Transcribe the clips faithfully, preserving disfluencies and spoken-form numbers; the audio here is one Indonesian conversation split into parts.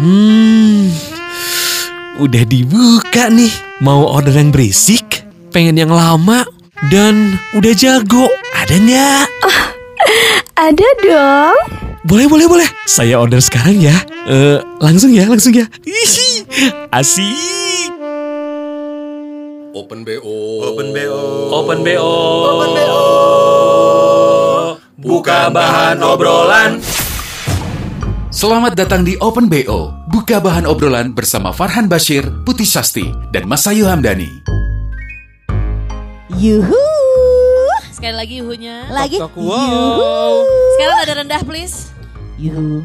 Hmm, udah dibuka nih. Mau order yang berisik, pengen yang lama, dan udah jago. Ada nggak? Oh, ada dong. Boleh, boleh, boleh. Saya order sekarang ya. Uh, langsung ya, langsung ya. Ihi, asik. Open B O. Open B O. Open B O. Open B O. Buka bahan obrolan. Selamat datang di Open B O. Buka bahan obrolan bersama Farhan Bashir, Putih Sasti, dan Mas Ayu Hamdani. Yuhu. Sekali lagi yuhunya. Lagi. Tok, tok, wow. Sekarang ada rendah please. Yuhu.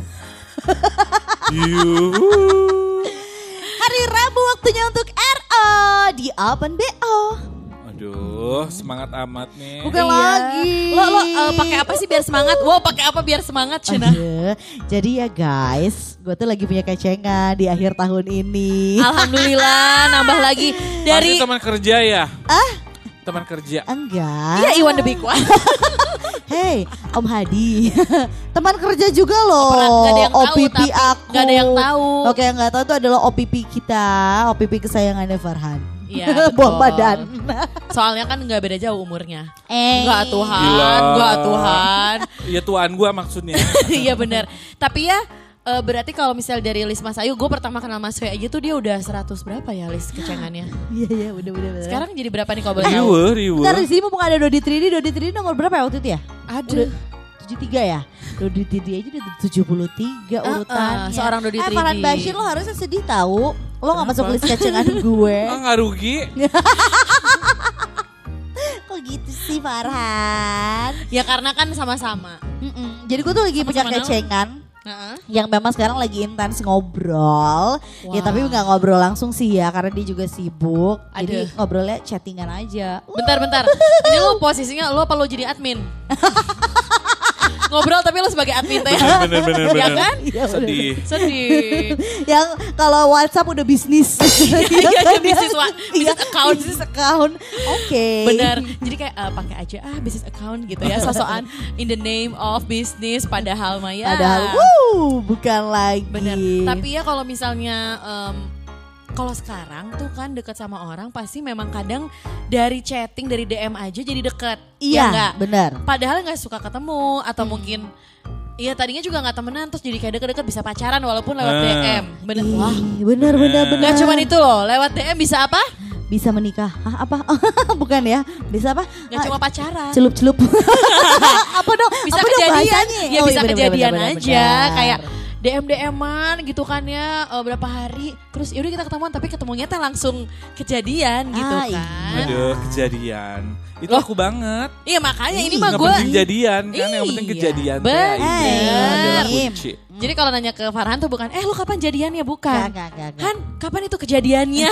Yuhu. Hari Rabu waktunya untuk R O di Open B O. Aduh, semangat amat nih. Bukan Iya. lagi. Lo lo uh, pakai apa sih biar semangat? Wow, pakai apa biar semangat, Cina? Aduh, jadi ya guys, gue tuh lagi punya kecengan di akhir tahun ini. Alhamdulillah, nambah lagi Dari dari teman kerja ya? Ah? Teman kerja. Enggak. Iya, Iwan the Big One. Hey, Om Hadi. Teman kerja juga loh. Pernah, gak ada yang tahu, O P P tapi aku. gak ada yang tahu. Oke, yang gak tahu itu adalah O P P kita, O P P kesayangannya Farhan. Iya, Buang betul. badan. Soalnya kan nggak beda jauh umurnya. Eh. Enggak Tuhan, Gila. enggak Tuhan. Iya tuan gua maksudnya. Iya benar. Tapi ya eh, berarti kalau misal dari list Mas Ayu, gue pertama kenal Mas Ayu aja tuh dia udah seratus berapa ya list kecengannya. Iya, iya, udah, udah, udah. Sekarang jadi berapa nih kalau boleh tahu? Riwe, riwe. Bentar, di sini mumpung ada Dodi tiga D, Dodi tiga D nomor berapa ya waktu itu ya? Aduh. tujuh puluh tiga ya? Dodi tiga D aja udah tujuh puluh tiga Uh-uh, urutannya. seorang Dodi Eh, tiga D. Farhan Bashir lo harusnya sedih tahu. Lo gak masuk list kecengan gue. Ah, nggak rugi. Kok gitu sih Farhan? Ya karena kan sama-sama. Mm-mm. Jadi gue tuh lagi punya Sama-sama kecengan. Heeh. Yang memang sekarang lagi intens ngobrol. Ya Wah. tapi gak ngobrol langsung sih ya. Karena dia juga sibuk. Jadi Aduh. ngobrolnya chattingan aja. Bentar, bentar. Ini lo posisinya lo apa lo jadi admin? Ngobrol tapi lo sebagai admin teh. Bener, bener, Ya bener. kan? Iya, Sedih. Sedih. Yang kalau WhatsApp udah bisnis. Iya, iya, bisnis wa- Iya, bisnis account. Bisnis account. Oke. Bener. Jadi kayak eh, pakai aja ah business account gitu ya. Sosokan in the name of business padahal mah ya. Padahal wuh, bukan lagi. Bener. Tapi ya kalau misalnya em, kalau sekarang tuh kan deket sama orang pasti memang kadang dari chatting dari D M aja jadi deket. Iya, Ya enggak? benar. Padahal nggak suka ketemu atau mungkin iya tadinya juga nggak temenan terus jadi kayak deket-deket bisa pacaran walaupun lewat Ah. D M. Bener. Ih, Wah. benar benar benar. Gak cuman itu loh, lewat D M bisa apa? Bisa menikah. Hah, apa? Bukan ya? Bisa apa? Gak cuma pacaran. celup-celup. Apa dong? Bisa apa dong kejadian, bahasanya? ya Oh, bisa iya, benar, kejadian benar, benar, aja benar. kayak D M D M-an gitu kan ya eh, berapa hari terus yaudah kita ketemuan tapi ketemunya teh langsung kejadian gitu Ah, kan. iya. Aduh, kejadian. Itu Loh. aku banget. Iya makanya ini Ih, mah Nggak gue. penting jadian kan, yang penting Iya, kejadian. teh, bener. ini adalah kunci. Jadi kalau nanya ke Farhan tuh bukan, eh lu kapan jadiannya? Bukan. Gak, gak, gak, gak. Han, kapan itu kejadiannya?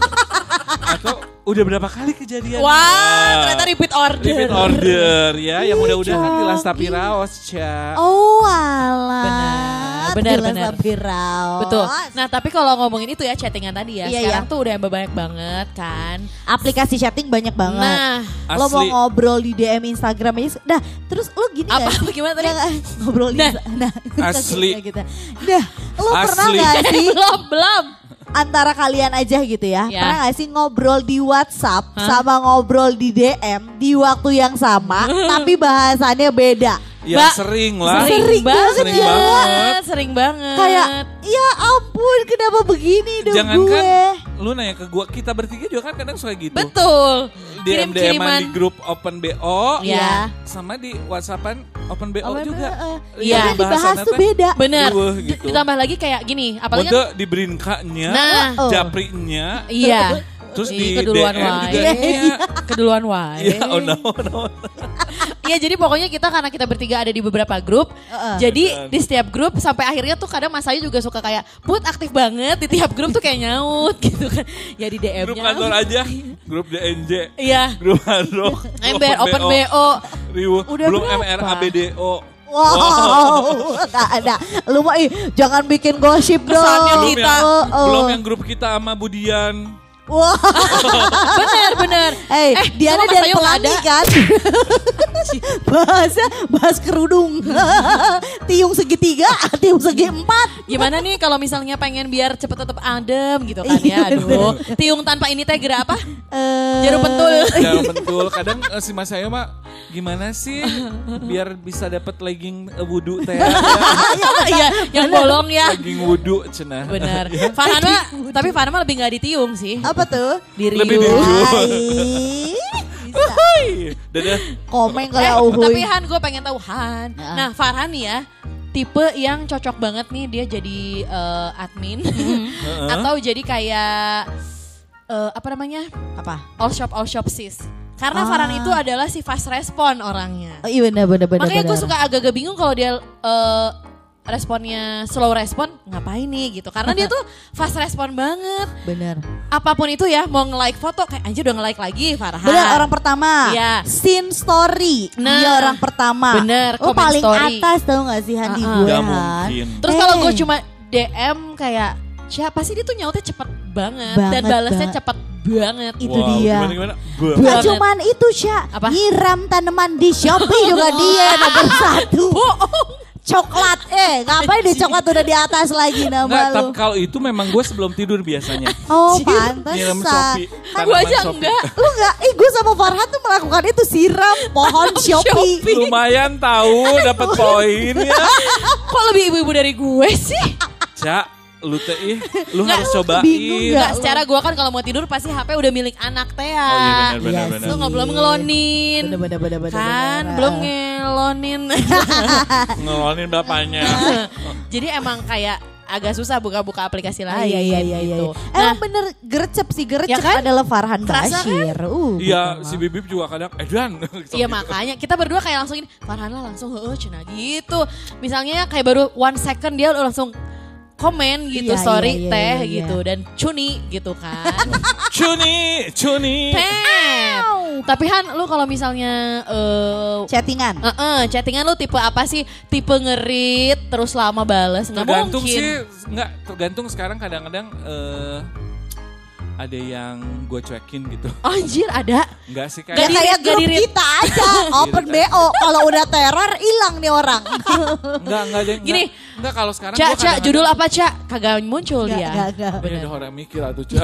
Atau udah berapa kali kejadian? Wah, ternyata repeat order. Repeat order ya, yang mudah-mudahan Ih, tilas Coki. tapi raos, Ca. Oh alah. Benar, benar, Gila benar. sampai raos. Betul. Nah tapi kalau ngomongin itu ya chattingan tadi ya, Iya, sekarang iya. tuh udah banyak banget kan. Aplikasi chatting banyak banget. Nah, Lo mau Asli. ngobrol di D M Instagram aja. Dah, terus lo gini apa gak? apa gimana tadi? Nggak, ngobrol di Nah. nah, Asli. gitu. Dah, lo pernah Asli. gak sih belum, belum. antara kalian aja gitu ya, Ya. pernah gak sih ngobrol di WhatsApp Hah? sama ngobrol di D M di waktu yang sama tapi bahasannya beda? Ya Mbak, sering lah. Sering banget Sering ya. banget. Sering banget. Kayak ya ampun kenapa begini dong Jangan gue? kan lu nanya ke gua, kita bertiga juga kan kadang suka gitu. Betul. D M D M-an di grup Open B O, Iya. sama di WhatsAppan Open B O Oh, juga. eh, Iya. yang dibahas tuh beda. Bener. Riweuh D- gitu. Ditambah lagi kayak gini, apalagi kan, Untuk di Brinka-nya, Nah. Oh. Japri-nya, iya. terus Ih, di keduluan D M juga wae. iya. Keduluan wae. Iya, oh no, no. Iya jadi pokoknya kita karena kita bertiga ada di beberapa grup. Heeh. Jadi di setiap grup sampai akhirnya tuh kadang Mas Ayu juga suka kayak Put aktif banget di tiap grup tuh kayak nyaut gitu kan. Ya di D M-nya. Grup kantor aja, grup D N J, Iya. grup Handrock, Ember, Open B O. Riweuh, Udah belum berapa? M R A B D O. Wow, gak ada. Lu mah ih, jangan bikin gosip dong. Kesannya Belum kita. yang, Oh, oh. belum yang grup kita sama Budian. Wah, Bener bener. hey, Eh, Diana cuma Mas dan Ayu nggak pelangi ada. kan? Bahasa bahas kerudung. Tiung segitiga, tiung segi empat. Gimana nih kalau misalnya pengen biar cepet tetap adem gitu kan Iya, ya. Aduh, tiung tanpa ini teh gerak apa? Eh, Jarum pentul. Jarum pentul. Kadang eh, si Mas Ayu mah gimana sih biar bisa dapat legging eh, wudhu teh. Ya. Iya, yang bolong ya. Legging wudhu cenah. Bener. Farhan mah, tapi Farhan mah lebih gak ditiung sih. Apa tuh? Diri Lebih diriu. Hai. Wuih. Dadah. Komen Eh, kalau uhuy. tapi Han gue pengen tahu Han. Ya. Nah Farhan nih ya, tipe yang cocok banget nih dia jadi eh, admin atau jadi kayak eh, apa namanya Apa? all shop all shop sis. Karena Ah. Farhan itu adalah si fast respon orangnya. Oh, iya benar benar benar. Makanya gue benar. suka agak-agak bingung kalau dia eh, responnya slow respon, ngapain nih gitu. Karena dia tuh fast respon banget. Benar. Apapun itu ya, mau nge-like foto kayak anjir udah nge-like lagi Farhan. Benar orang pertama. Iya. Scene story. Nah. Dia orang pertama. Bener, Oh komen paling story. atas tau gak sih Han di Uh-uh. gue Gak Han. mungkin. Terus kalau gue Hey. cuma D M kayak siapa sih dia tuh nyautnya cepet banget, dan Banget, balasnya banget. cepet banget. Itu Wow, dia. Gimana gimana? Bah. Gak Banget. cuman itu Sya. Apa? Nyiram tanaman di Shopee juga dia nomor satu. Coklat. Eh ngapain di coklat udah di atas lagi nama Enggak, lu. tapi kalau itu memang gue sebelum tidur biasanya. Oh Nyiram pantesan. Shopee. Kan Gue Tanaman aja Shopee. enggak. lu gak, ih gue sama Farhan tuh melakukan itu siram pohon Shopee. Lumayan tahu dapat poin ya. Kok lebih ibu-ibu dari gue sih? Cak, lu teh ih, lu Nggak, harus lu cobain. bingung nggak? Enggak, secara gue kan kalau mau tidur pasti H P udah milik anak teh ya. Oh iya benar benar Iya benar. Lu nggak belum ngelonin. Bener bener bener bener. Kan bener. belum ngelonin. Ngelonin bapaknya. Jadi emang kayak agak susah buka-buka aplikasi Ah, lain. iya iya iya iya. gitu. Emang Nah, bener gercep sih gercep Ya kan? adalah Farhan Kerasa kan? Bashir. Uh, Iya, betul. si Bibip juga kadang edan. Iya makanya kita berdua kayak langsung ini Farhan lah langsung heeh cenah gitu. Misalnya kayak baru one second dia udah langsung komen gitu Iya, story iya, iya, teh iya, iya. gitu dan cuni gitu kan. Cuni, cuni. Tet. Tapi Han lu kalau misalnya eh Chattingan. eh, eh, chattingan lu tipe apa sih? Tipe ngerit terus lama bales? Nggak Tergantung mungkin. sih, enggak tergantung sekarang kadang-kadang eh ada yang gue cuekin gitu. Anjir ada. Enggak sih Ya Nggak kayak di- kayak nggak grup di-read. kita aja, open B O. Kalau udah teror hilang nih orang. enggak enggak ada. Gini. enggak, enggak kalau sekarang Cak, gua Cak, kadang-kadang- judul apa Cak? Kagak muncul Enggak, dia. enggak, enggak. Ini ada orang mikir atau Cak.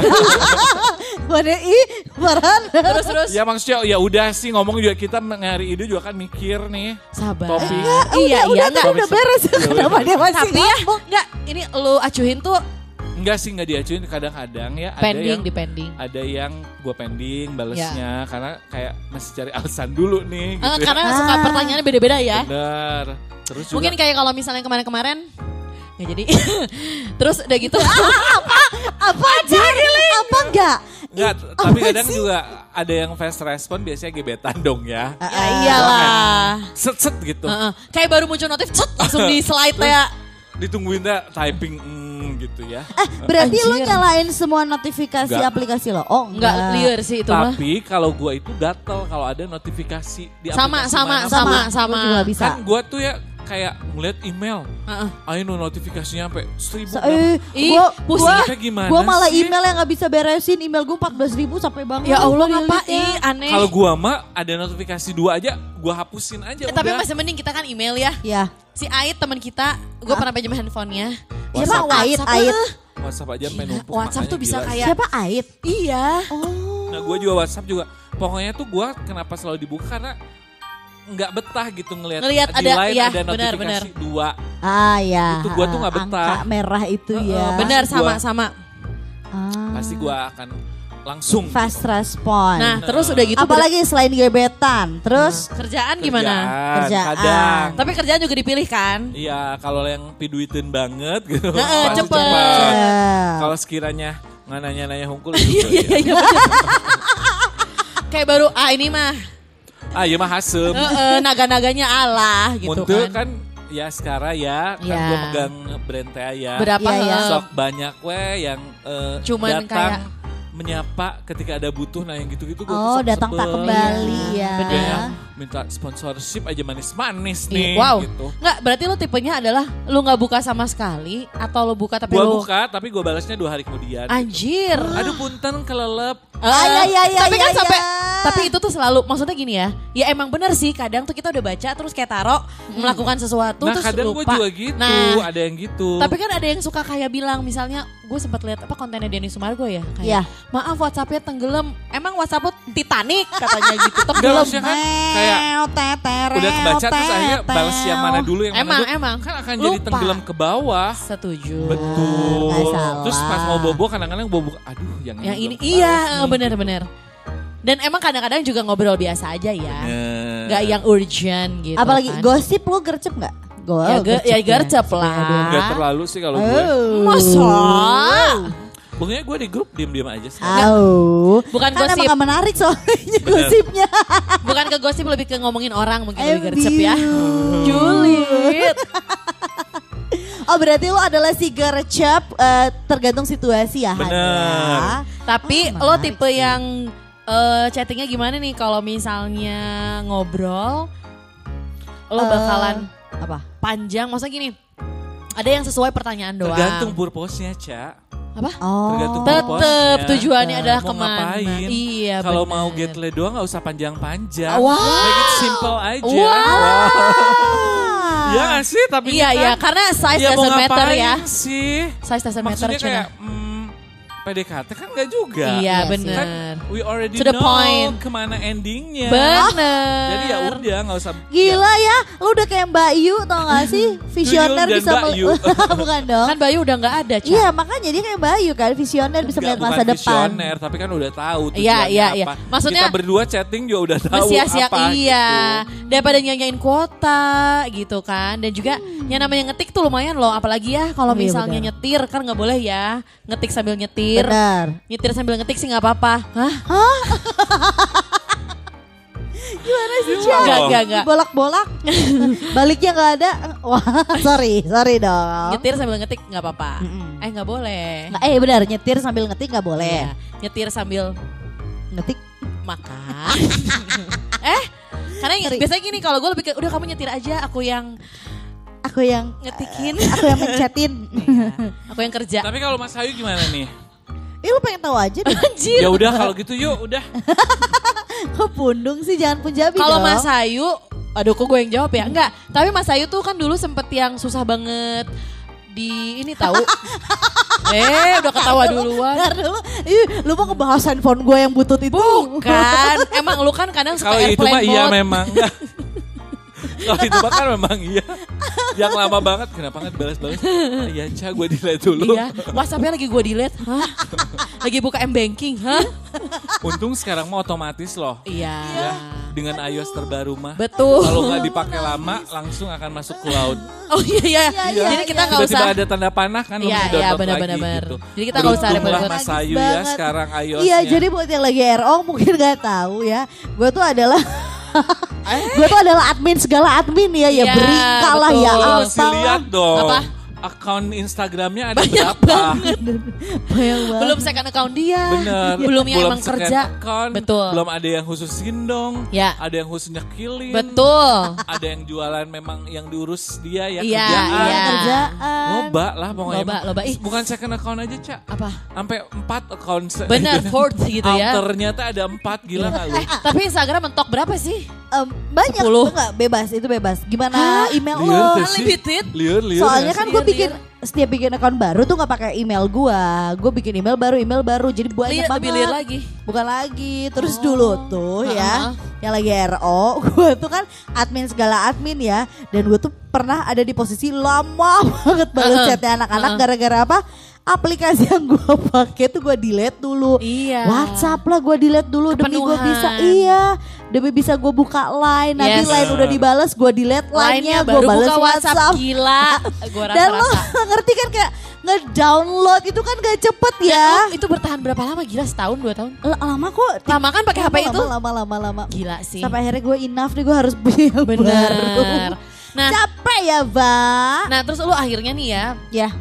Mana ih, Farhan. Terus terus Ya maksudnya ya udah sih ngomong juga kita hari ini juga kan mikir nih. sabar. Topik. Iya, udah, iya udah, enggak. udah beres. Ya, Kenapa udah. dia masih Tapi ya, ngomong? enggak, ini lu acuhin tuh Enggak sih enggak diacuin kadang-kadang ya ada pending yang di pending. ada yang gue pending balesnya karena kayak masih cari alasan dulu nih gitu. Eh, ya. karena suka Ah. pertanyaannya beda-beda ya. Bener. Terus juga Mungkin kayak kalau misalnya kemarin-kemarin nggak jadi. Terus udah gitu. Apa jadi? Apa enggak? enggak, Ih, tapi apa kadang sih? juga ada yang fast respon biasanya gebetan dong ya. Ya iyalah. Set set gitu. Heeh. Kayak baru muncul notif, cet, langsung di slide ya. Ditungguin dah typing mm, gitu ya. Eh, berarti lu Anjir. nyalain semua notifikasi Enggak. aplikasi lo? Oh, Enggak enggak. liar sih itu mah. Tapi kalau gua itu gatel kalau ada notifikasi di Sama aplikasi sama mana. sama Sama, sama. gua juga bisa. Kan gua tuh ya kayak ngeliat email. Heeh. Ayo no notifikasinya sampai seribu. So, berapa. eh, Ih, gua, pusingnya gua, gimana gua malah sih? email yang gak bisa beresin. Email gue empat belas ribu sampai bangun. Ya Allah Gua ngapain delete-nya. aneh. Kalau gua mah ada notifikasi dua aja, gua hapusin aja Eh, udah. tapi masih mending kita kan email ya. Ya. Si Ait teman kita, gue pernah pinjam handphonenya. Siapa Dia Ait? WhatsApp, Ait. eh. WhatsApp aja Gila, sampai numpuk. WhatsApp tuh makanya bisa gila. kayak- Siapa Ait? Iya. Oh. Nah gue juga WhatsApp juga. Pokoknya tuh gue kenapa selalu dibuka karena nggak betah gitu ngelihat Ngelihat di ada- line iya, ada benar, notifikasi benar. dua. Ah ya. Itu gua tuh nggak ah, betah. Angka merah itu Heeh, ya. Benar Pasti gua- sama-sama. Ah. Pasti gue akan langsung. Fast respon. Nah, terus udah gitu. apalagi selain gebetan. Terus kerjaan gimana? Kerjaan, Kerjaan. Kadang. Tapi kerjaan juga dipilih kan? Iya kalau yang piduitin banget gitu. Heeh, pasti cepet. Cepet. Kalau sekiranya nggak nanya-nanya hungkul gitu. Iya, iya, bener. Kayak baru, ah ini mah Ah iya mah hasem. eh, eh, naga-naganya Allah gitu Muntul kan. kan ya sekarang ya kan Iya. gue megang brand teh ya. Berapa Iya, iya. eh, Sok banyak we yang eh, Cuman datang kayak- menyapa ketika ada butuh, nah yang gitu-gitu gue Oh, tuh datang tak sebel. kembali ya. Bener. Kayak minta sponsorship aja manis-manis nih Wow. gitu. Nggak, berarti lu tipenya adalah lu nggak buka sama sekali atau lu buka tapi Gue lu buka tapi gue balasnya dua hari kemudian. anjir. Aduh punten kelelep. Eh, Ah, iya, iya, iya, tapi kan iya, sampai iya. tapi itu tuh selalu maksudnya gini ya. Ya emang bener sih kadang tuh kita udah baca terus kayak taruh melakukan sesuatu Nah terus kadang gue lupa. juga gitu, Nah, ada yang gitu. tapi kan ada yang suka kayak bilang misalnya gue sempat lihat apa kontennya Denny Sumargo ya kayak Iya. maaf WhatsApp-nya tenggelam. Emang WhatsApp lu Titanic katanya gitu. Enggak, Tenggelam. maksudnya kan kayak udah kebaca terus akhirnya balas yang mana dulu yang Emang, mana dulu. emang. Kan akan jadi Lupa. tenggelam ke bawah. Setuju. Betul. nggak salah. Terus pas mau bobo kadang-kadang bobo, aduh yang, Yang ini belum iya balas nih. bener-bener. Dan emang kadang-kadang juga ngobrol biasa aja ya. Bener. Nggak yang urgent gitu. Apalagi kan. gosip lu gercep gak? Go, Ya, ge- ya gercep lah. Gak terlalu sih kalau gue. Oh. Masa? Pokoknya gue di grup diem-diem aja sih. Oh. Bukan Kan gosip. emang gak menarik soalnya gosipnya. Bukan ke gosip lebih ke ngomongin orang mungkin I lebih gercep ya. view. Julid. Oh berarti lu adalah si gercep eh, tergantung situasi ya. Han, Bener. ya? Tapi Oh, lo menarik tipe sih. yang eh, chattingnya gimana nih kalau misalnya ngobrol lo Eh, bakalan Apa? panjang maksudnya gini. Ada yang sesuai pertanyaan doang. Tergantung purpose-nya, Ca. Apa? Oh. Tergantung Tetep purpose-nya. tujuannya adalah Mau kemana. ngapain. Iya Kalau bener. mau get laid doang gak usah panjang-panjang. Wow. Make it simple aja. Wow. Iya gak sih? Tapi Iya kan, iya karena size ya mau doesn't matter ngapain ya. sih? Size doesn't matter Maksudnya Cina. kayak hmm, P D K T kan gak juga. Iya Iya sih. bener. Kan we already To the know point. kemana endingnya. Bener. Jadi ya udah gak usah. Gila ya, lu udah kayak Mbak Yu tau gak sih? Visioner dan bisa Mbak mel- Yu. bukan dong. Kan Bayu udah nggak ada, Ca. Iya makanya dia kayak Mbak Yu kan, visioner bisa Nggak, melihat masa bukan depan. visioner, tapi kan udah tahu Iya, tujuannya iya, iya. apa. Maksudnya- kita berdua chatting juga udah tahu Bersiap-siap apa iya. gitu. Daripada nyanyain kuota gitu kan. Dan juga yang namanya ngetik tuh lumayan loh. Apalagi ya kalau Oh, iya, misalnya benar. nyetir kan nggak boleh ya. Ngetik sambil nyetir. Benar. Nyetir sambil ngetik sih nggak apa-apa. Hah? Gimana sih Iya. Cia? Enggak, enggak, enggak. Bolak-bolak. Baliknya gak ada. Wah sorry, sorry dong. Nyetir sambil ngetik nggak apa-apa. Mm-mm. Eh nggak boleh. Nggak, eh benar, nyetir sambil ngetik gak boleh. Iya. Nyetir sambil Ngetik. makan. eh, karena yang- Sorry. biasanya gini kalau gue lebih ke udah kamu nyetir aja, aku yang Aku yang ngetikin, aku yang mencetin. aku yang kerja. Tapi kalau Mas Ayu gimana nih? Ih lu pengen tahu aja deh. Anjir. Ya udah kalau gitu yuk udah. Kok pundung sih, jangan punjabi Kalau dong. Mas Ayu, aduh kok gue yang jawab ya? Enggak, tapi Mas Ayu tuh kan dulu sempet yang susah banget di ini tahu. eh, udah ketawa duluan. Bentar dulu. Ih, lu mau ngebahas handphone gue yang butut itu? Kan, emang lu kan kadang suka Kalau itu airplane mah iya mode. memang. Kalau itu mah kan memang iya. Yang lama banget kenapa nggak balas-balas? Ah, iya Ca, gue delete dulu. Iya, WhatsApp-nya lagi gue delete. Hah? Lagi buka M-Banking, hah? Untung sekarang mah otomatis loh. Iya. Ya, dengan iOS terbaru mah. Betul. Kalau nggak dipakai lama langsung akan masuk cloud. Oh iya iya. iya, Jadi kita nggak Tiba-tiba usah. ada tanda panah kan Iya, harus iya, download benar-benar, lagi benar. gitu. Jadi kita nggak usah Beruntunglah repot-repot. Mas Ayu ya Banget. sekarang iOS-nya. Iya, jadi buat yang lagi R O mungkin gak tahu ya. Gue tuh adalah gue tuh adalah admin segala admin ya. Ya Iya, beri kalah ya. betul. Lu Apa? mesti lihat dong. Apa? Akun Instagramnya ada Banyak berapa? banget. Banyak banget. Belum second account dia. Bener. Belum yang emang second kerja. account, Betul. Belum ada yang khusus sindong. Ya. Ada yang khusus nyekilin. Betul. Ada yang jualan memang yang diurus dia ya Iya, kerjaan. iya. Kerjaan. Loba lah pokoknya. Loba, loba. Ih. Bukan second account aja, Cak. Apa? Sampai empat account. se- Benar, fourth gitu ya. Alternya tuh ada empat, gila gak lu? Tapi Instagram mentok berapa sih? Em, banyak Sepuluh. tuh gak bebas, itu bebas. Gimana email Liar lo? tuh sih. Unlimited? Liar, liar. Soalnya gak kan sih? gue Liar, bikin setiap bikin akun baru tuh nggak pakai email gue. Gue bikin email baru, email baru. Jadi banyak Lihat lebih liar banget. lagi. Bukan lagi. Terus Oh. dulu tuh ya, yang lagi R O, gue tuh kan admin segala admin ya. Dan gue tuh pernah ada di posisi lama banget balas Uh-uh. chatnya anak-anak. Uh-uh. Gara-gara apa? Aplikasi yang gue pakai tuh gue delete dulu. Iya. WhatsApp lah gue delete dulu demi gue Kepenuhan. bisa. Iya, demi bisa gue buka line. Nanti Yes. line udah dibales, gue delete Lainnya line-nya, gue baru balas buka WhatsApp. WhatsApp. Gila. Gue Dan lo rasa-rasa. ngerti kan kayak nge-download itu kan gak cepet ya. Lu itu bertahan berapa lama? Gila setahun, dua tahun? L- lama kok. Lama kan pakai H P Lama, itu? Lama, lama, lama. Gila sih. Sampai akhirnya gue enough nih, gue harus beli yang Bener. baru. Nah, Capek ya, Mbak. nah terus lu akhirnya nih ya, Ya,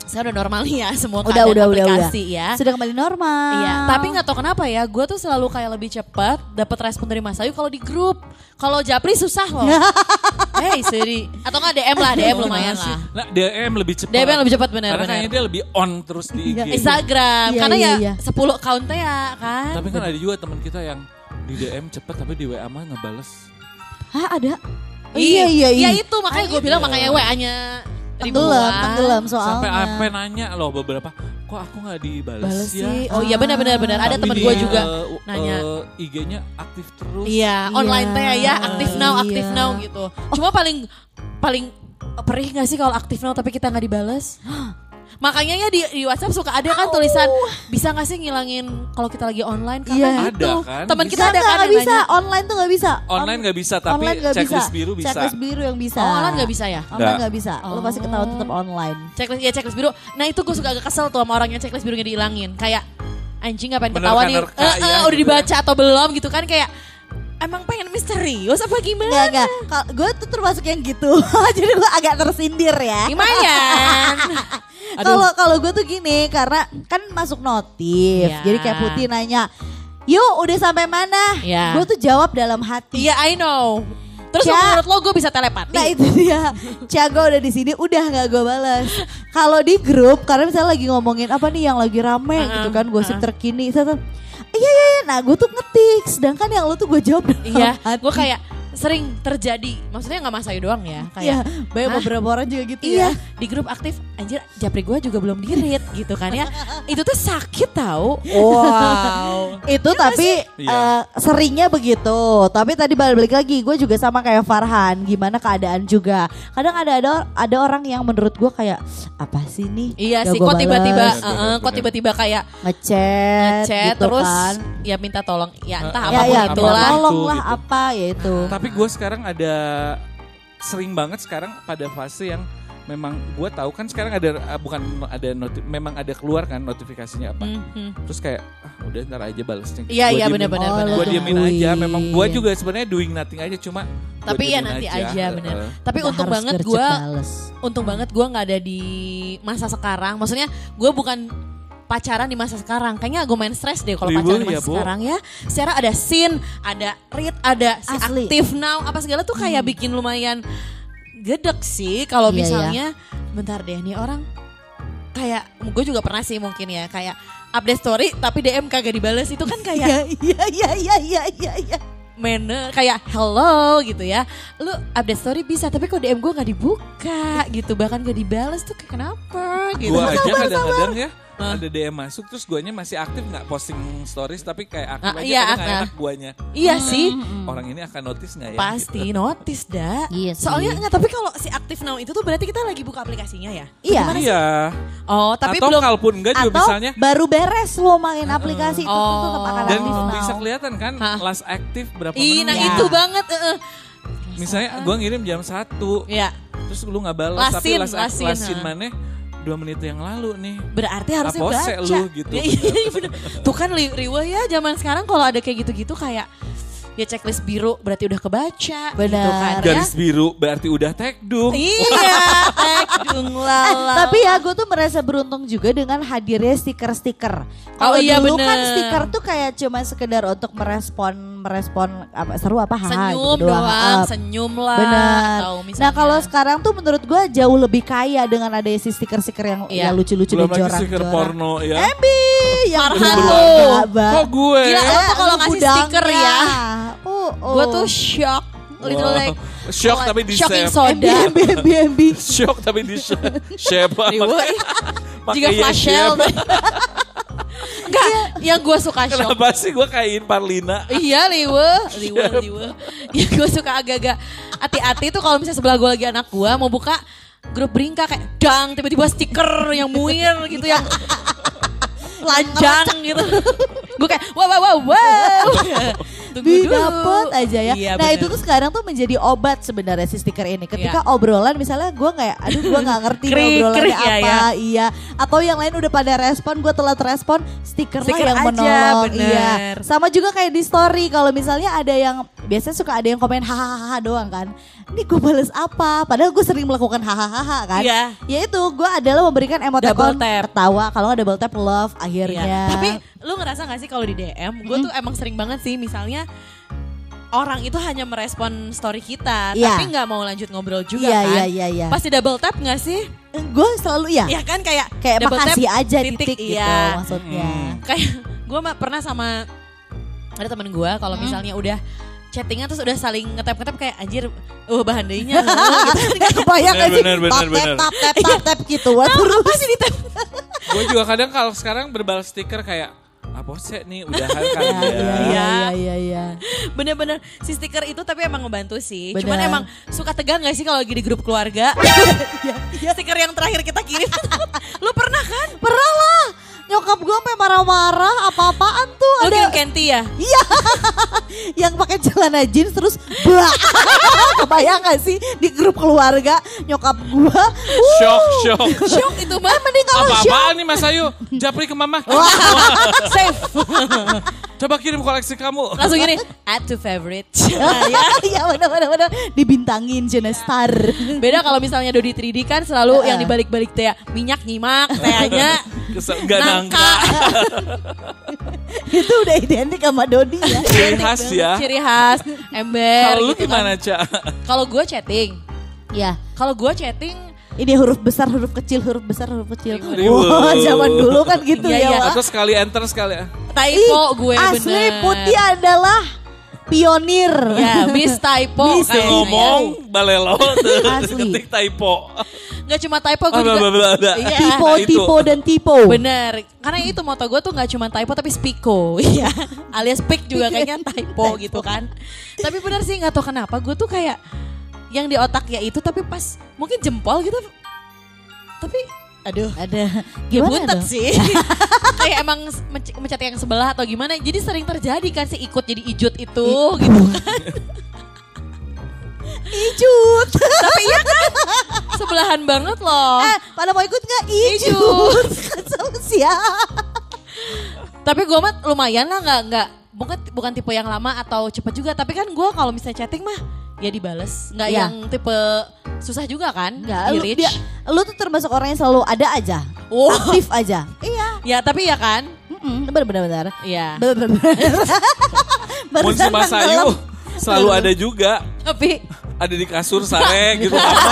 Sekarang udah normal nih ya semua Udah, keadaan udah, udah, aplikasi udah. ya. Sudah kembali normal. Iya, tapi nggak tahu kenapa ya, gue tuh selalu kayak lebih cepat dapat respon dari Mas Ayu kalau di grup. Kalau Japri susah loh. Hey, sedih. Atau nggak D M lah, D M lumayan lah. Nah, D M lebih cepat. D M lebih cepat Karena benar-benar. kayaknya dia lebih on terus di I G. Instagram, Iya, karena iya, ya iya. sepuluh account-nya ya kan. Tapi kan ada juga teman kita yang di D M cepet tapi di W A mah ngebales. Hah, ada? Oh, Iya, iya, iya, iya. itu makanya gue bilang makanya W A-nya Tenggelam, tenggelam soalnya. Sampai sampai nanya loh beberapa, kok aku nggak dibales Bales ya? sih. Oh iya benar-benar benar. Ada Tapi teman di, gue juga eh, nanya. eh, I G-nya aktif terus. Iya, online teh ya, aktif now, Iya. aktif now gitu. Cuma paling paling perih gak sih kalau aktif now tapi kita nggak dibales? Makanya ya di, di WhatsApp suka ada kan tulisan bisa gak sih ngilangin kalau kita lagi online karena Iya. itu Ada kan? teman Bisa kita ada Nggak, kan nggak yang bisa, nanya. online tuh gak bisa. Online nggak bisa, tapi online nggak checklist bisa. biru bisa. Checklist biru yang bisa. Oh, online nggak bisa ya? Online Nggak. nggak bisa. Lo pasti ketahuan tetap online. Checklist ya checklist biru. Nah itu gue suka agak kesel tuh sama orang yang checklist birunya dihilangin. Kayak anjing ngapain Bener ketawa kan, nih? nerka Eh, ya, eh, udah gitu dibaca atau belum gitu kan kayak emang pengen misterius apa gimana? Enggak, enggak. Gue tuh termasuk yang gitu. Jadi gue agak tersindir ya. Lumayan. Kalau kalau gue tuh gini, karena kan masuk notif. Iya. Jadi kayak Putih nanya, "Yuk, udah sampai mana?" Iya. Gue tuh jawab dalam hati. Iya I know. Terus Ya. menurut lo gue bisa telepati? Nah itu dia, Ciago udah di sini, udah nggak gue balas. Kalau di grup, karena misalnya lagi ngomongin apa nih yang lagi rame Uh-uh, gitu kan, gosip uh-uh. terkini, saya tuh, iya iya iya, nah gue tuh ngetik, sedangkan yang lu tuh gue jawab dalam Iya, hati. gue kayak sering terjadi. Maksudnya nggak Mas Ayu doang ya, Iya, kayak banyak "Hah? beberapa orang juga gitu Iya, ya. di grup aktif, anjir Japri gue juga belum di-read gitu kan ya. Itu tuh sakit tau. Wow. Itu tapi Iya. eh, seringnya begitu. Tapi tadi balik lagi, gue juga sama kayak Farhan. Gimana keadaan juga. Kadang ada ada ada orang yang menurut gue kayak apa sih nih? Iya Gak sih, gua kok tiba-tiba, bales. uh, uh, kok tiba-tiba kayak ngechat, chat gitu terus kan. ya minta tolong, ya entah Uh, Ya apapun ya, apa- itulah. apa- tolong lah gitu. apa ya itu. Tapi gue sekarang ada sering banget sekarang pada fase yang memang gue tahu kan sekarang ada ah, bukan ada noti, memang ada keluar kan notifikasinya apa. Mhm. Terus kayak ah udah ntar aja balesnya. Iya, Gua iya, diemin. benar-benar, Oh, benar. Gue lo diemin tungguin. aja. Memang gue juga sebenarnya doing nothing aja cuma. gua Tapi ya diemin nanti aja, bener. Heeh. Tapi Nggak untung harus banget gercep gue, bales. untung banget gue nggak ada di masa sekarang. Maksudnya gue bukan pacaran di masa sekarang. Kayaknya gue main stres deh kalau Ribet pacaran di ya, masa Bu. sekarang ya. Secara ada scene, ada read, ada si Asli. aktif now, apa segala tuh kayak bikin lumayan gedek sih. Kalau Iya, misalnya, bentar deh nih orang kayak, gue juga pernah sih mungkin ya, kayak update story tapi D M kagak dibales itu kan kayak Iya iya iya iya iya iya. manner kayak hello gitu ya. Lu update story bisa tapi kok D M gue nggak dibuka gitu, bahkan gak dibales tuh kayak kenapa gitu. Gue aja kadang-kadang ya ada D M masuk terus guanya masih aktif nggak posting stories tapi kayak aktif Ah, aja iya, kadang nggak ah. enak guanya. Iya sih, Orang ini akan notice nggak ya? pasti gitu. notice dah. Iya sih. Soalnya enggak, tapi kalau si aktif now itu tuh berarti kita lagi buka aplikasinya ya. Iya. Iya. Oh, tapi Atau belum. kalaupun enggak juga Atau misalnya baru beres lo main aplikasi itu Oh. tuh tetap akan dan aktif now. bisa kelihatan kan Hah? last aktif berapa Ih, menit. nah Ya. itu banget. eh, eh. Misalnya gue ngirim jam satu Ya, terus lu nggak balas Last tapi scene, last, last scene, last scene ha. mana dua menit yang lalu nih. berarti harusnya Apose baca. lu gitu. Ya, iya, bener. Tuh kan li- riweh ya zaman sekarang kalau ada kayak gitu-gitu kayak ya checklist biru berarti udah kebaca. Benar. Gitu kan, ya. Garis biru berarti udah tag dung. Iya, tekdung Eh, lala. tapi ya gue tuh merasa beruntung juga dengan hadirnya stiker-stiker. Kalau Oh iya, dulu bener. kan stiker tuh kayak cuma sekedar untuk merespon merespon apa seru apa ha senyum gitu doang, Ah, senyum lah. benar. Atau misalnya, Nah kalau sekarang tuh menurut gue jauh lebih kaya dengan ada si stiker-stiker yang Iya. ya lucu-lucu Belum dan lagi stiker jorang-jorang. porno ya. Embi yang Farhan berwarna, tuh. Bang. Kok gue? Gila, lo tuh kalau Lu ngasih gudangnya. stiker ya, Oh, oh. gue tuh shock. Literally Wow. Shock tapi di shocking save. soda. Embi, embi, embi. Shock tapi di shape. Shape Riweh. Pakai Juga ya flash sale. shape. Enggak, yang gue suka shock. Kenapa sih gue kain Parlina? Iya liwe, liwe, liwe. Ya gue suka agak-agak hati-hati tuh kalau misalnya sebelah gue lagi anak gue mau buka grup Bringka kayak dang tiba-tiba stiker yang muir gitu yang telanjang gitu. Gue kayak wow wow wow wow. Tunggu dulu. Didapet aja ya. Iya, nah bener. itu tuh sekarang tuh menjadi obat sebenarnya si stiker ini. Ketika Iya. obrolan misalnya gue kayak, aduh gue nggak ngerti nih Krik, obrolannya krik ya, apa, iya. Atau yang lain udah pada respon, gue telat respon, stiker, Stiker lah yang aja, menolong. bener. Iya. Sama juga kayak di story kalau misalnya ada yang biasanya suka ada yang komen hahaha doang kan. Ini gue bales apa? Padahal gue sering melakukan hahaha kan. Iya. Ya itu gue adalah memberikan emoticon Double tap. tertawa. Kalau nggak double tap love akhirnya. Iya. Tapi lu ngerasa gak sih kalau di D M, gue tuh emang sering banget sih misalnya orang itu hanya merespon story kita, Iya. tapi nggak mau lanjut ngobrol juga Iya, kan? iya, iya, iya. Pasti double tap nggak sih? Gue selalu ya. Iya kan kayak Kayak double tap, makasih aja titik, gitu iya. maksudnya. Kayak gue pernah sama ada temen gue kalau misalnya udah chattingan terus udah saling ngetap-ngetap kayak anjir, uh bahan dayanya gitu. Kebayang gak sih? Bener, bener, Tap, bener. tap, tap, tap, tap gitu. Wah, Tahu terus. apa sih di tap? Gue juga kadang kalau sekarang berbalas stiker kayak apa sih nih udahan kan Iya, ya. iya, iya, iya, iya. Bener-bener si stiker itu tapi emang ngebantu sih. Bener. Cuman emang suka tegang gak sih kalau lagi di grup keluarga? Stiker yang terakhir kita kirim. Lu pernah kan? Pernah lah. Nyokap gue sampai marah-marah apa-apaan tuh. Lu Ada kirim Kenti ya? Iya. Yang pakai celana jeans terus bah. Kebayang gak sih di grup keluarga nyokap gue. Shock, shock. Shock itu mah. Mending kalau shock. Apa-apaan nih Mas Ayu? Japri ke mama. Save. Coba kirim koleksi kamu. Langsung gini, add to favorite. Iya benar-benar dibintangin Jena Star. Beda kalau misalnya Dodi tiga D kan selalu Heeh. yang dibalik-balik teh minyak nyimak, tehnya Kesel, gak nangka. nangka. Itu udah identik sama Dodi ya. Ciri khas ya. Ciri khas, ember. Kalau lu gitu gimana, kan. Ca? Kalau gue chatting, Ya, kalau gue chatting, ini huruf besar, huruf kecil, huruf besar, huruf kecil. Ribut. Wah, zaman dulu kan gitu Iya, ya, iya. Wak. Atau sekali enter sekali. typo gue Asli bener. Putih adalah pionir. Ya, Miss Typo. Miss kayaknya. Ngomong balelo tuh. Asli. Ketik typo. Gak cuma typo, gue Ah, bla, juga. bla, bla, bla. Iya. Tipo, Nah, itu. tipo, dan tipo. Bener, karena itu moto gue tuh gak cuma typo tapi spiko, iya, alias speak juga kayaknya typo gitu kan. Tapi bener sih gak tau kenapa gue tuh kayak yang di otak ya itu tapi pas mungkin jempol gitu, tapi aduh Ada ya gimana buntet dong? sih. Kayak emang menc- mencet yang sebelah atau gimana, jadi sering terjadi kan sih ikut jadi ijut itu gitu kan. Ijut. Tapi iya kan, sebelahan banget loh. Eh, pada mau ikut gak? Ijut. Ijut. Kesel sia. Tapi gue mah lumayan lah, nggak nggak bukan bukan tipe yang lama atau cepet juga. Tapi kan gue kalau misalnya chatting mah ya dibales, nggak Iya. yang tipe susah juga kan. Enggak, di lu, reach. dia, lu tuh termasuk orang yang selalu ada aja. Oh. Aktif aja. Iya. Ya tapi ya kan, Mm-mm, bener-bener. ya. Bener-bener. Mun si Mas Ayu selalu ada juga. Tapi Ada di kasur sare gitu apa.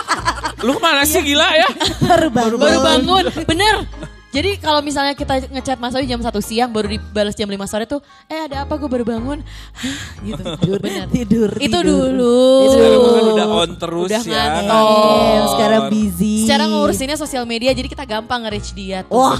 Lu kemana sih gila ya? Baru bangun. baru bangun, bener. Jadi kalau misalnya kita ngechat Mas Ayu jam satu siang baru dibales jam lima sore tuh, eh ada apa gue baru bangun, Hah, gitu. Tidur, Bener. tidur, Itu tidur. dulu. Sekarang kan udah on terus Udah ya. ngantor. Eh, sekarang busy. Secara ngurusinnya sosial media jadi kita gampang nge-reach dia tuh. Wah,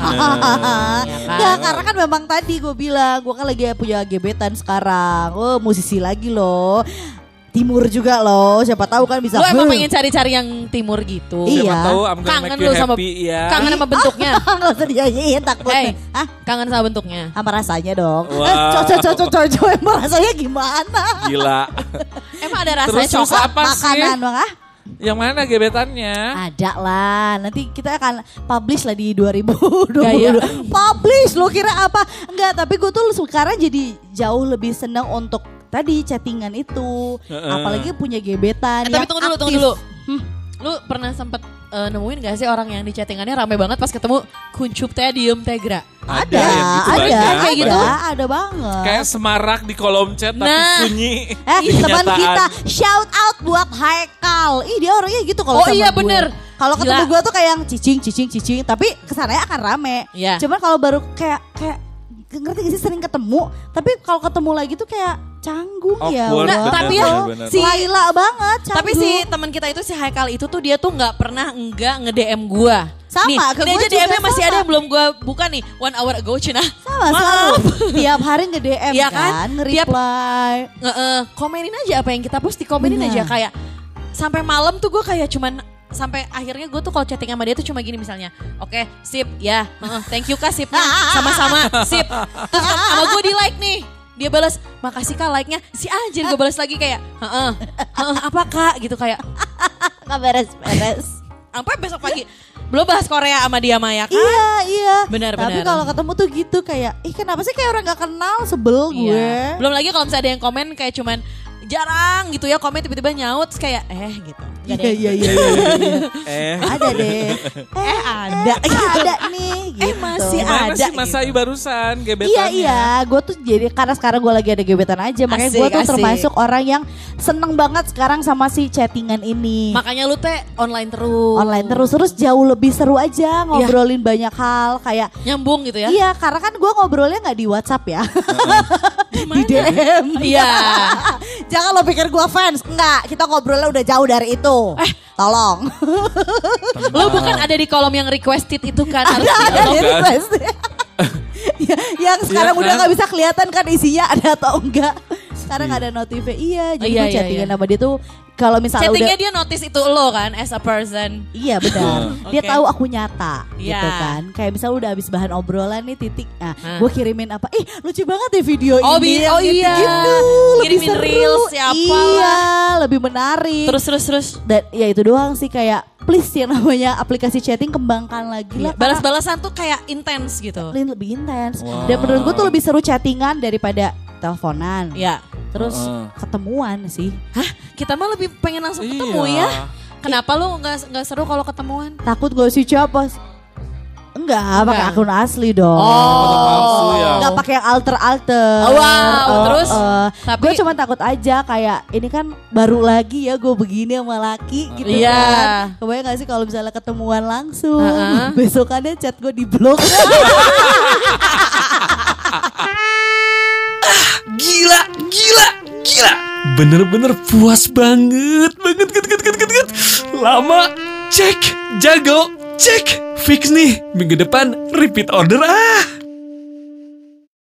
Ya kan? nggak, karena kan memang tadi gue bilang, gue kan lagi punya gebetan sekarang. Oh, musisi lagi loh. Timur juga loh, siapa tahu kan bisa. Lo emang huh. pengen cari-cari yang timur gitu. Iya. Siapa tahu I'm gonna Kangen make you lu sama happy ya. kangen sama bentuknya. Nggak usah dinyanyiin takut. Hey, Hah? kangen sama bentuknya. Sama rasanya dong. Wah. Eh, cocok, cocok, cocok. Emang rasanya gimana? Gila. Emang ada rasanya Terus coklat? apa sih? Makanan bang ah? Yang mana gebetannya? Ada lah, nanti kita akan publish lah di dua ribu dua Gaya. puluh dua. Publish, lo kira apa? Enggak, tapi gue tuh sekarang jadi jauh lebih senang untuk tadi chattingan itu. Heeh. Apalagi punya gebetan Eh, yang tapi tunggu dulu, tunggu aktif. dulu. Hmm, lu pernah sempet eh, nemuin gak sih orang yang di chattingannya rame banget pas ketemu kuncup teh diem teh gerak? Ada, yang gitu ada, banyak. ada, Kayak gitu? ada banget. Kayak semarak di kolom chat tapi Nah. sunyi. Eh di teman kenyataan. kita shout out buat Haikal. Ih dia orangnya gitu kalau Oh sama iya, gue. bener. Kalau ketemu Gila. gue tuh kayak yang cicing cicing cicing, tapi kesananya akan rame. Iya. Cuman kalau baru kayak kayak ngerti gak sih sering ketemu, tapi kalau ketemu lagi tuh kayak canggung ya. Awkward, Nggak, Allah. tapi ya, bener. si- Laila banget canggung. Tapi si teman kita itu si Haikal itu tuh dia tuh nggak pernah enggak nge-D M gua. Sama, nih, ke ini gua aja juga D M-nya masih sama. ada yang belum gua buka nih. One hour ago Cina. sama selalu tiap hari nge-D M Iya kan, kan? nge-reply. Nge-eh, komenin aja apa yang kita post, dikomenin Benar. aja kayak sampai malam tuh gue kayak cuman sampai akhirnya gue tuh kalau chatting sama dia tuh cuma gini misalnya, oke sip ya, heeh, thank you kak sipnya, sama-sama sip, terus sama gue di like nih, dia balas makasih kak like-nya, si anjir gue balas lagi kayak, heeh, heeh, apa kak gitu kayak, Gak beres-beres. sampai besok pagi belum bahas Korea sama dia Maya kan? Iya iya. Benar, Tapi benar. kalau ketemu tuh gitu kayak, ih kenapa sih kayak orang gak kenal, sebel gue. Iya. Belum lagi kalau misalnya ada yang komen kayak cuman jarang gitu ya komen tiba-tiba nyaut terus kayak eh gitu. Gak Iya iya iya iya. Eh, Ada deh. Eh ada. Ada nih gitu. Eh masih gimana ada sih Mas gitu. Ayu barusan gebetannya? Iya iya, gue tuh jadi karena sekarang gue lagi ada gebetan aja, makanya gue Asik, tuh asik. termasuk orang yang seneng banget sekarang sama si chattingan ini. Makanya lu teh online terus. Online terus terus jauh lebih seru aja ngobrolin banyak hal kayak Nyambung gitu ya. iya karena kan gue ngobrolnya nggak di WhatsApp ya, di D M. Iya. Jangan lo pikir gue fans, enggak. Kita ngobrolnya udah jauh dari itu. Eh, tolong. Lu bukan ada di kolom yang requested itu kan harus Ada di di kan? request. Ya, yang sekarang Iya udah kan? nggak bisa kelihatan kan isinya ada atau enggak. Sekarang ada notifnya. Iya, jadi Iya, gue iya, chattingan iya. sama dia tuh kalau misalnya udah Chattingnya dia notice itu lo kan as a person. iya benar. Dia Oke. tahu aku nyata Iya. gitu kan. Kayak misalnya udah habis bahan obrolan nih titik. Nah, Hah. gue kirimin apa? Ih, lucu banget ya video Oh, ini. bi- yang oh iya. gitu. Lebih Ngirimin seru. reels siapa Iya, lah. lebih menarik. Terus terus terus. Dan ya itu doang sih kayak please yang namanya aplikasi chatting kembangkan lagi lah. karena Balas-balasan tuh kayak intens gitu. lebih intens. Wow. Dan menurut gue tuh lebih seru chattingan daripada teleponan. Ya. Terus Heeh. ketemuan sih. Hah? Kita mah lebih pengen langsung ketemu Iya. ya. Kenapa lu nggak nggak seru kalau ketemuan? Takut gak sih siapa? Enggak, pakai Enggak. akun asli dong. Foto palsu ya. Enggak pakai yang alter-alter. Oh, wow. Terus? Tapi- gue cuma takut aja kayak ini kan baru lagi ya gue begini sama laki gitu Iya. kan. Kebayang gak sih kalau misalnya ketemuan langsung, Uh-uh. besokannya chat gue di blok. Gila, gila, gila. Bener-bener puas banget, banget, banget, banget, banget, banget. Lama, cek, jago, cek. Fix nih, minggu depan repeat order ah.